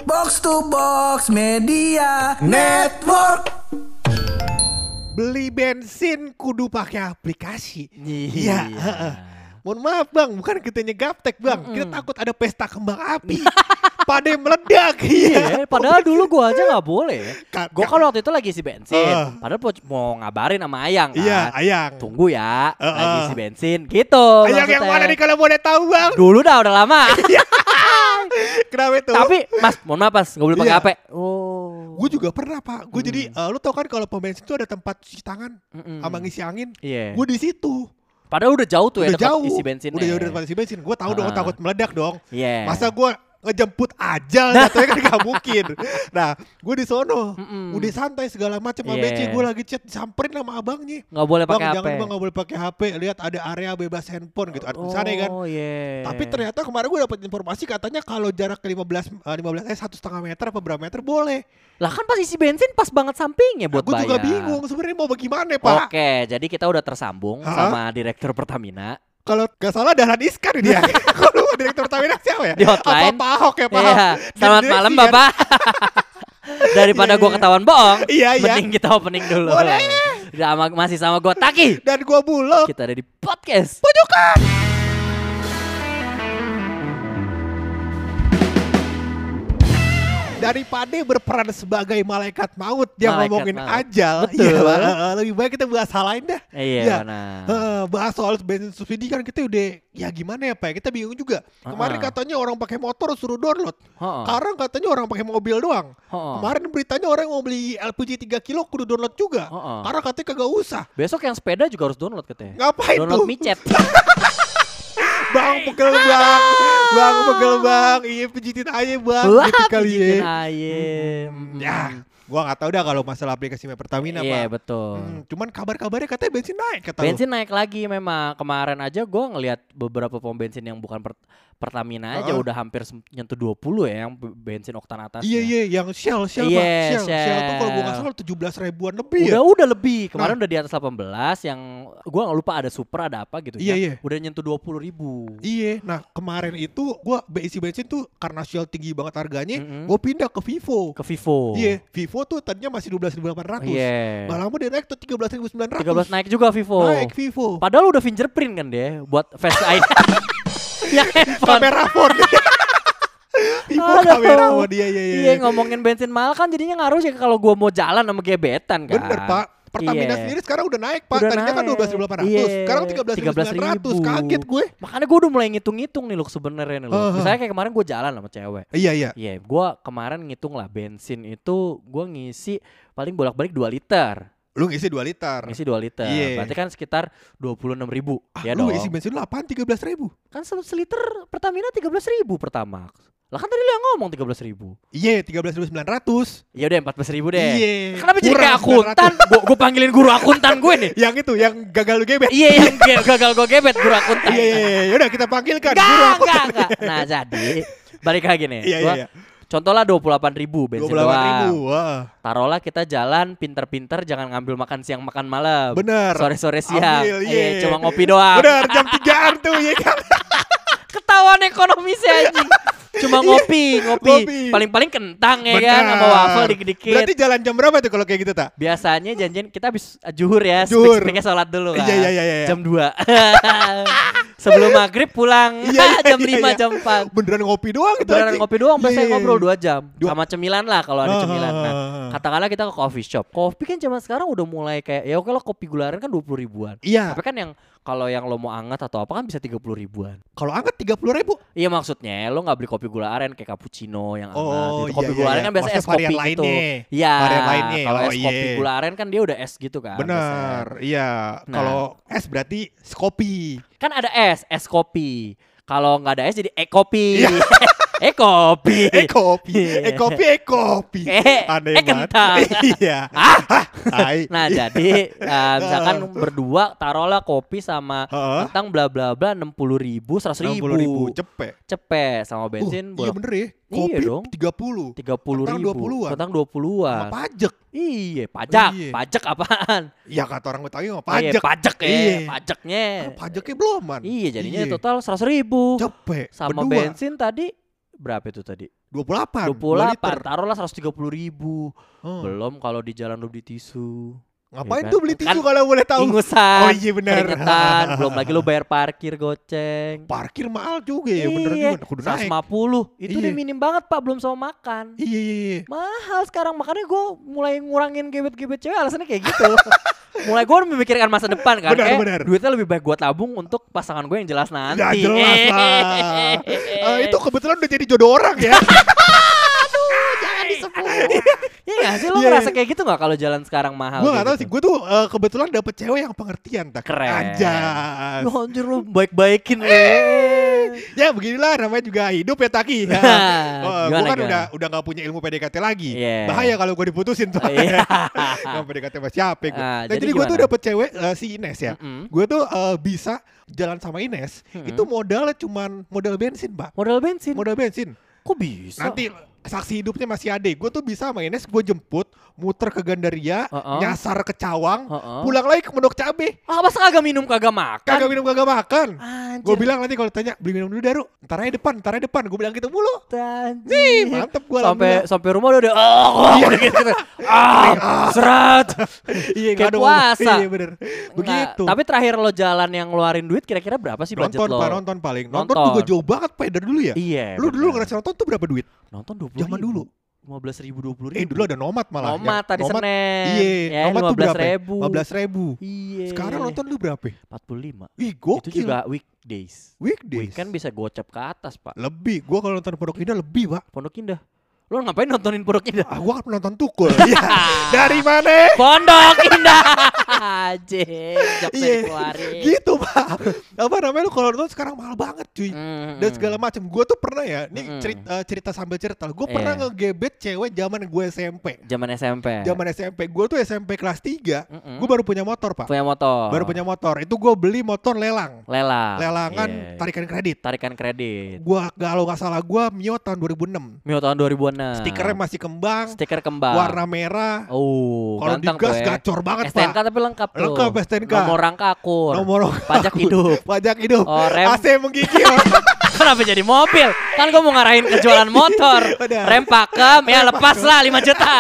Box to Box Media Network. Beli bensin kudu pakai aplikasi. Iya. Mohon maaf bang, bukan kita gaptek bang. Kita takut ada pesta kembang api. Pada meledak. Iya, padahal dulu gua aja nggak boleh. Gua Ka- kan waktu itu lagi isi bensin. Padahal mau ngabarin sama Ayang kan. Iya, Ayang. Tunggu ya, lagi isi bensin gitu. Ayang yang mana nih kalau boleh tahu bang? Dulu udah lama. Kenapa itu? Tapi Mas, mohon maaf Mas, nggak boleh pakai Iya. HP. Oh. Gue juga pernah pak. Gue jadi, lu tau kan kalau pom bensin tuh ada tempat cuci tangan sama ngisi angin. Iya. Gue di situ. Padahal udah jauh tuh ya Udah dekat jauh. isi bensinnya. Udah jauh dari tempat isi bensin. Gue tahu dong takut meledak dong. Iya. Masa gue ngejemput ajal jatuhnya kan gak mungkin. Nah, gue di sono, udah santai segala macam sama Iya. BC, gue lagi chat disamperin sama abangnya. Nggak boleh Bang, pakai HP. jangan bang, gak boleh pakai HP. Lihat ada area bebas handphone gitu. Ada tulisannya kan. Oh iya. Tapi ternyata kemarin gue dapat informasi katanya kalau jarak ke 1,5 meter apa berapa meter boleh. Lah kan pas isi bensin pas banget sampingnya buat Gue bayar. juga bingung sebenarnya mau bagaimana pak. Oke, jadi kita udah tersambung sama direktur Pertamina. Kalau gak salah Dahlan Iskan dia. Kalau direktur Pertamina siapa ya? Di hotline. Apa Pak Ahok ya Pak Ahok? Iya. Selamat Direksi malam kan? Bapak. Daripada gua ketahuan bohong, Iya, iya. mending kita opening dulu. Boleh. Masih sama gua Taki. Dan gue Bulog. Kita ada di podcast. Daripada berperan sebagai malaikat maut dia Malaikat ngomongin maut. ajal. Betul. Iya, lebih baik kita bahas hal lain dah. Iya, benar. Bahas soal bensin subsidi kan kita udah ya gimana ya Pak ya, kita bingung juga. Kemarin katanya orang pakai motor suruh download. Sekarang katanya orang pakai mobil doang. Kemarin beritanya orang mau beli LPG 3 kilo kudu download juga. Karena katanya kagak usah. Besok yang sepeda juga harus download katanya. Ngapain Download tuh? micet. Bang pegel bang. Bang pegel bang. Iya pijitin aja bang. Wah, Gitu kali ya. pijitin ayam. Ya, gua nggak tahu dah kalau masalah aplikasi Pertamina Iya, Pak. betul. Cuman kabar-kabarnya katanya bensin naik kata lu. Bensin naik lagi memang. Kemarin aja gue ngelihat beberapa pom bensin yang bukan Pertamina aja udah hampir nyentuh 20 ya yang bensin oktan atasnya. Iya, yang Shell Iya, Pak. Shell tuh kalau gua nggak salah 17 ribuan lebih ya. Udah lebih. Kemarin udah di atas 18 yang gue nggak lupa ada super ada apa gitu Iya, ya. iya. Udah nyentuh 20.000. Iya, nah kemarin itu gua isi bensin tuh karena Shell tinggi banget harganya, gua pindah ke Vivo. Ke Vivo. Iya, Vivo tuh tadinya masih 12.800. Iya. Gak lama dia naik tuh 13.900. 13 naik juga Vivo. Naik Vivo. Padahal udah fingerprint kan dia buat Face ID. Ya handphone. Kamera phone. Vivo Aduh. kamera phone dia iya. Iya ngomongin bensin mahal kan jadinya ngaruh sih kalau gua mau jalan sama gebetan kan. Bener Pak. Pertamina Iya. sendiri sekarang udah naik Pak. Udah Tadinya kan naik. 12.800. Iya. Sekarang 13.900. Kaget gue. Makanya gue udah mulai ngitung-ngitung nih loh sebenarnya nih loh. Misalnya kayak kemarin gue jalan sama cewek. Iya. Iya, gue kemarin ngitung lah bensin itu gue ngisi paling bolak-balik 2 liter. Lu ngisi 2 liter. Ngisi 2 liter. Iya. Berarti kan sekitar 26.000. Ya Lu dong. isi bensin lu apaan 13.000? Kan seliter Pertamina 13.000 pertama. Lah kan tadi lu yang ngomong 13.000. Iya, 13.900. Ya udah 14.000 deh. Iya. Kenapa jadi Kurang kayak akuntan? Gue panggilin guru akuntan gue nih. Yang itu, yang gagal lu gebet. Iya yang gagal gue gebet guru akuntan. Iya. Yaudah kita panggilkan guru Enggak, akuntan. enggak. Nah jadi balik lagi nih. Iya. Contoh lah 28.000 bensin 28.000. doang. Wah. Taruhlah kita jalan pinter-pinter jangan ngambil makan siang makan malam. Bener. Sore-sore siang. Ambil, iya. Cuma ngopi doang. Bener, jam 3-an tuh ya kan. Ketahuan ekonomisnya anjing. Cuma ngopi. Paling-paling kentang ya kan sama waffle dikit-dikit. Berarti jalan jam berapa tuh kalau kayak gitu tak? Biasanya janjian kita habis zuhur ya, Zuhur. speak-speaknya sholat dulu kan. Iya. Jam 2. Sebelum maghrib pulang jam 5, Iya. jam 4. Beneran ngopi doang gitu. Beneran anjing. ngopi doang, biasanya Iya. ngobrol 2 jam. Dua- Sama cemilan lah kalau ada cemilan. Nah, Ah. katakanlah kita ke coffee shop. Kopi kan zaman sekarang udah mulai kayak ya oke lah kopi gula aren kan 20 ribuan. Iya. Tapi kan yang kalau yang lo mau anget atau apa kan bisa 30 ribuan. Kalau anget 30.000. Iya maksudnya lo nggak beli kopi gula aren kayak cappuccino yang anget Oh, gitu. Kopi iya, gula iya. aren kan biasa Maksudnya es kopi varian gitu. lainnya. Iya. Varian lainnya. Kalau Oh, es kopi iya. gula aren kan dia udah es gitu kan. Bener. Iya. Nah. Kalau es berarti kopi. Kan ada es kopi. Kalau nggak ada es jadi kopi. Iya. Kopi. Kopi. Iya. Kopi. Aneh banget. Kentang. Iya. Hai. Nah jadi misalkan berdua taruhlah kopi sama Heeh. kentang bla bla bla 60.000 100.000 cepet. sama bensin Iya bener ya. Iya Kopi dong. 30. 30.000 Kentang 20-an. kentang Sama 20-an pajak. iya pajak Iya. pajak apaan Ya kata orang Betawi mah Iya, pajak. pajak ya Iya. pajaknya Pajaknya belum man. iya jadinya Iya. total 100.000 Cepet. sama Berdua. bensin tadi berapa itu tadi 28. 28, taruhlah 130.000. Belum kalau di jalan lu beli tisu. Ngapain Ya tuh kan? beli tisu Kan kalau boleh tahu? Ingusan. Oh iya benar. Keringetan. Belum lagi lu bayar parkir goceng. Parkir mahal juga ya, bener Iya, juga. Kudu naik. 150. Itu Iya. udah minim banget Pak, belum sama makan. Iya. Mahal sekarang, makanya gue mulai ngurangin gebet-gebet cewek, alasannya kayak gitu. Mulai gue memikirkan masa depan kan. Benar. Duitnya lebih baik gue tabung untuk pasangan gue yang jelas nanti. Ya jelas lah. Itu kebetulan udah jadi jodoh orang ya. Jangan disebut. Iya gak sih, lo ngerasa kayak gitu gak kalau jalan sekarang mahal? Gue gak tau gitu? sih, gue tuh kebetulan dapet cewek yang pengertian. Keren. Anjas. Lu anjir, lu baik-baikin lu. Ya beginilah namanya juga hidup ya Taki. Gue kan udah gak punya ilmu PDKT lagi. Bahaya kalau gue diputusin tuh. Gak PDKT sama siapa gue. Jadi gue tuh dapet cewek si Ines ya. Gue tuh bisa jalan sama Ines. Itu modalnya cuman modal bensin Pak. Modal bensin? Modal bensin. Kok bisa? Nanti saksi hidupnya masih ada. Gue tuh bisa sama Ines, gue jemput, muter ke Gandaria, nyasar ke Cawang, pulang lagi ke Pondok Cabe. Masa kagak minum kagak makan? Kagak minum kagak makan. Gue bilang nanti kalau tanya beli minum dulu Daru, ntar aja depan. Gue bilang gitu mulu. Nih, mantep gue sampai rumah udah gitu. Serat. Iya, kayak puasa. Iya bener. Begitu. Tapi terakhir lo jalan yang ngeluarin duit kira-kira berapa sih budget lo? Nonton paling. Nonton juga jauh banget Pak dari dulu ya. Iya. Lu dulu ngerasa nonton tuh berapa duit? Nonton 20.000. Zaman dulu 15.000, 20.000. Dulu ada Nomad malah. Nomad tadi Senin. Iya, Nomad tuh berapa? 15.000. Iya. Sekarang nonton lu berapa? 45. Ih, gokil. Itu juga weekdays. Weekend bisa gocap ke atas, Pak. Lebih. Gua kalau nonton Pondok Indah lebih, Pak. Pondok Indah. Lo ngapain nontonin Pondok Indah? Gua kan nonton Tukul. Iya. Dari mana? Pondok Indah. Anjing, jokesnya dikeluarin. Gitu, Pak. Apa namanya lu kalau nonton sekarang mahal banget, cuy. Dan segala macam. Gua tuh pernah ya, ini cerita sambil cerita. Gua pernah ngegebet cewek zaman gue SMP. Zaman SMP. Gua tuh SMP kelas 3. Gua baru punya motor, Pak. Baru punya motor. Itu gua beli motor lelangan tarikan kredit. Gua kalau nggak salah gua Mio tahun 2006. Stikernya masih kembang. Warna merah. Kalau digas gacor banget, Pak. STNK tapi lengkap tuh. Lengkap STNK. Nomor rangka akur. Pajak hidup. Rem. AC menggigil. Kenapa jadi mobil? Kan gue mau ngarahin ke jualan motor. Rem pakem, ya lepas lah 5 juta.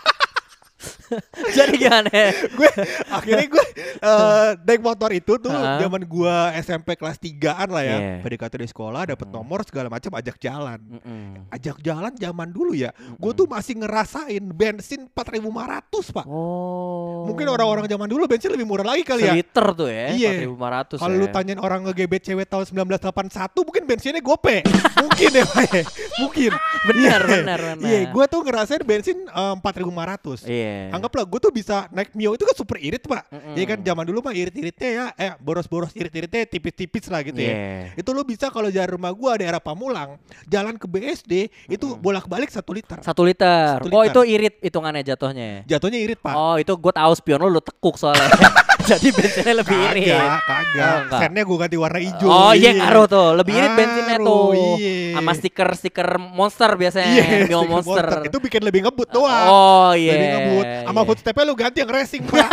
Jadi gimana? Akhirnya gue naik motor itu tuh zaman gue SMP kelas 3-an lah ya. PDKT di sekolah, dapet nomor segala macam, ajak jalan. Ajak jalan zaman dulu ya. Gue tuh masih ngerasain bensin 4.500 Pak. Mungkin orang-orang zaman dulu bensin lebih murah lagi kali ya. Seliter tuh ya, iya. 4.500 Kalau lu tanyain orang ngegebet cewek tahun 1981 mungkin bensinnya gope. Mungkin ya Pak ya. Mungkin. Benar. Iya, gue tuh ngerasain bensin 4.500. Iya. Anggaplah gue tuh bisa naik Mio itu kan super irit Pak. Iya kan zaman dulu mah irit-iritnya ya boros-boros irit-iritnya tipis-tipis lah gitu ya. Itu lu bisa kalau jalan rumah gue daerah Pamulang jalan ke BSD itu bolak-balik 1 liter. 1 liter. Oh itu irit hitungannya jatuhnya. Jatuhnya irit Pak. Oh itu gue tahu spion lu tekuk soalnya. Jadi bensinnya lebih irit. Kagak. Sennya gue ganti warna hijau. Oh iya ngaruh tuh. Lebih irit bensinnya tuh. Iya. Sama stiker Monster biasanya. Mio Monster. Itu bikin lebih ngebut doang. Oh iya. Lebih ngebut. Sama footstep-nya lu ganti yang racing Pak.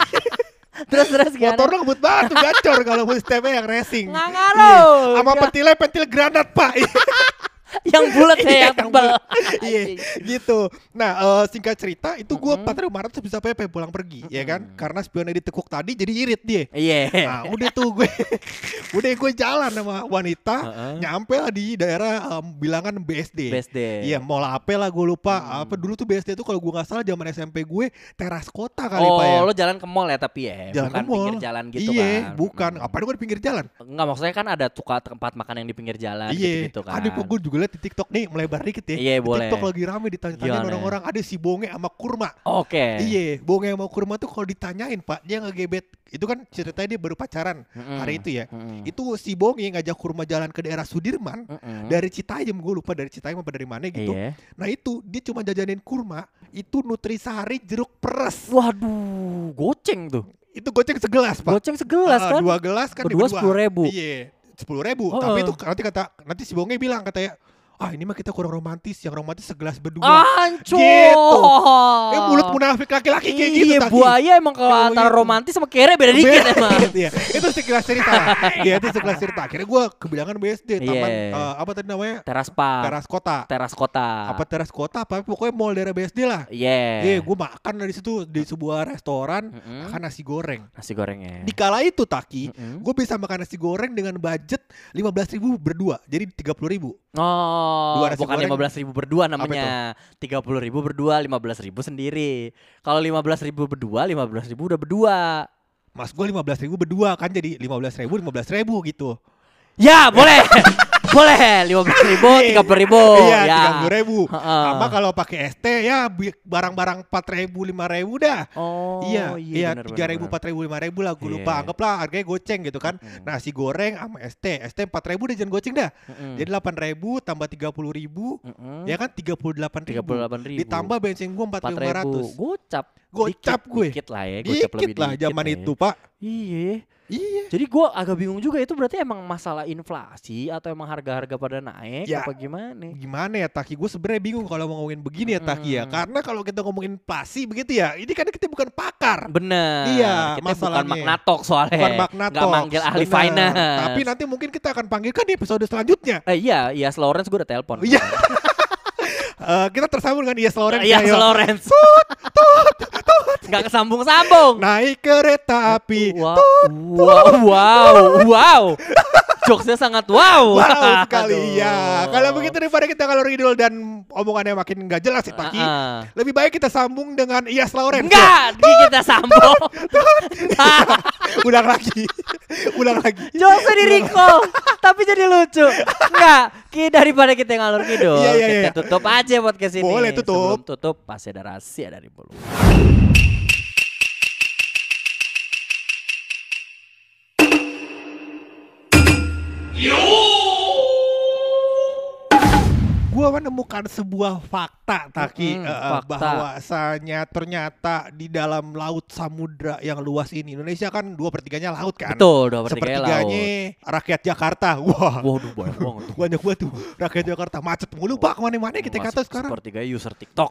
Terus gimana? Motor lu ngebut banget tuh gacor kalau footstep-nya yang racing. Nggak ngaruh. Sama pentil granat Pak. Yang bulat ya, yang tebal. Iya, gitu. Nah, singkat cerita itu gue 4.500 bisa PP pulang pergi, ya kan? Karena spionnya ditekuk tadi jadi irit dia. Iya. Nah, udah tuh gue jalan sama wanita, nyampe lah di daerah bilangan BSD. Iya, mall apa lah gue lupa. Apa dulu tuh BSD tuh kalau gue nggak salah zaman SMP gue teras kota kali Pak ya. Oh, lo jalan ke mall ya tapi ya, jalan bukan pinggir jalan gitu kan? Iya, bukan. Apaan gue di pinggir jalan? Enggak, maksudnya kan ada tukar tempat makan yang di pinggir jalan gitu kan. Ada gue juga liat di TikTok nih melebar dikit ya. Iya boleh. TikTok lagi rame ditanya-tanya orang-orang ada si bonge sama kurma. Oke. Iya, bonge sama kurma tuh kalau ditanyain Pak dia ngegebet. Itu kan ceritanya dia baru pacaran hari itu ya. Itu si bonge ngajak kurma jalan ke daerah Sudirman dari Citayam, gue lupa dari Citayam apa dari mana gitu. Nah itu dia cuma jajanin kurma itu Nutrisari jeruk peres. Waduh, goceng tuh. Itu goceng segelas Pak. Goceng segelas kan? 2 gelas kan berdua 10.000. Iya. 10.000, tapi itu nanti si bonge bilang katanya, ini mah kita kurang romantis, yang romantis segelas berdua. Ancur. Gitu. Mulut munafik laki-laki kayak gitu. Iya, buaya emang kalau antara romantis sama kere beda dikit emang. Iya. Itu sekelas cerita. Iya, itu sekelas cerita. Akhirnya gue kebilangan BSD, taman apa tadi namanya? Teras kota. Apa teras kota? Apa pokoknya mall daerah BSD lah. Iya. Gue makan dari situ di sebuah restoran, makan nasi goreng. Nasi gorengnya. Di kala itu Taki, gue bisa makan nasi goreng dengan budget 15.000 berdua, jadi 30.000. Oh, bukan 15.000 berdua namanya. 30.000 berdua, 15.000 sendiri. Kalau 15.000 berdua, 15.000 udah berdua. Mas gue 15.000 berdua kan jadi 15.000 gitu. Ya boleh. Boleh 15.000, 30.000. Iya, ya. 30.000. Sama kalau pakai ST ya barang-barang 4.000, 5.000 dah. Oh iya 3.000, 4.000, 5.000 lah. Gue lupa, anggaplah harganya goceng gitu kan. Nasi goreng sama ST 4.000 udah jangan goceng dah. Jadi 8.000 tambah 30.000, ya kan 38.000. Ditambah bensin gue 4.500. Gocap gue. Dikit lah ya, dikit lah zaman itu Pak. Iya. Jadi gue agak bingung juga itu berarti emang masalah inflasi atau emang harga-harga pada naik apa gimana? Gimana ya Taki? Gue sebenarnya bingung kalau mau ngomongin begini ya Taki ya. Karena kalau kita ngomongin inflasi begitu ya, ini kan kita bukan pakar. Bener. Iya, kita masalahnya. bukan magnatok soalnya. Bukan magnatok. Gak manggil ahli finance. Tapi nanti mungkin kita akan panggilkan di episode selanjutnya. Iya, Lawrence gue udah telepon. Iya. Kita tersambung dengan Iyas Lawrence. Iyas Lawrence. Gak kesambung-sambung. Naik kereta api. Wow. Jokesnya sangat wow sekali ya. Kalau begitu daripada kita ngalor ngidul dan omongannya makin gak jelas sih Taki, lebih baik kita sambung dengan Iyas Lawrence. Enggak, kita sambung. Ulang lagi. Jokesnya di recall, tapi jadi lucu. Enggak, daripada kita ngalor ngidul, kita tutup aja podcast ini. Boleh tutup. Sebelum tutup, pasti ada rahasia dari Bulu. Gue menemukan sebuah fakta Taki, bahwasanya ternyata di dalam laut samudra yang luas ini, Indonesia kan 2/3-nya laut kan. Betul, 2/3-nya laut. Rakyat Jakarta. Waduh banyak banget tuh. Banyak banget tuh rakyat Jakarta, macet mulu Pak kemana-mana kita kata sekarang. 1/3 user TikTok.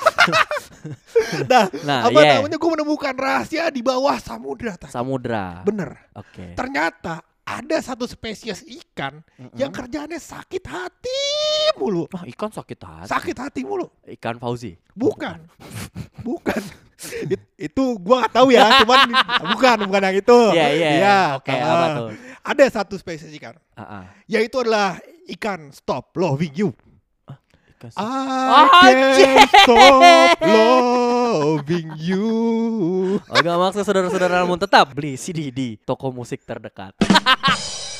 Namanya gue menemukan rahasia di bawah samudra Taki. Samudra. Bener. Oke. Ternyata ada satu spesies ikan yang kerjaannya sakit hati mulu. Ikan sakit hati? Sakit hati mulu. Ikan Fauzi? Bukan. Itu gua gak tahu ya, cuman bukan yang itu. Iya. Oke, apa tuh? Ada satu spesies ikan. Yaitu adalah ikan stop loving you. I can't stop loving you. Agak maksud saudara-saudara namun tetap beli CD di toko musik terdekat.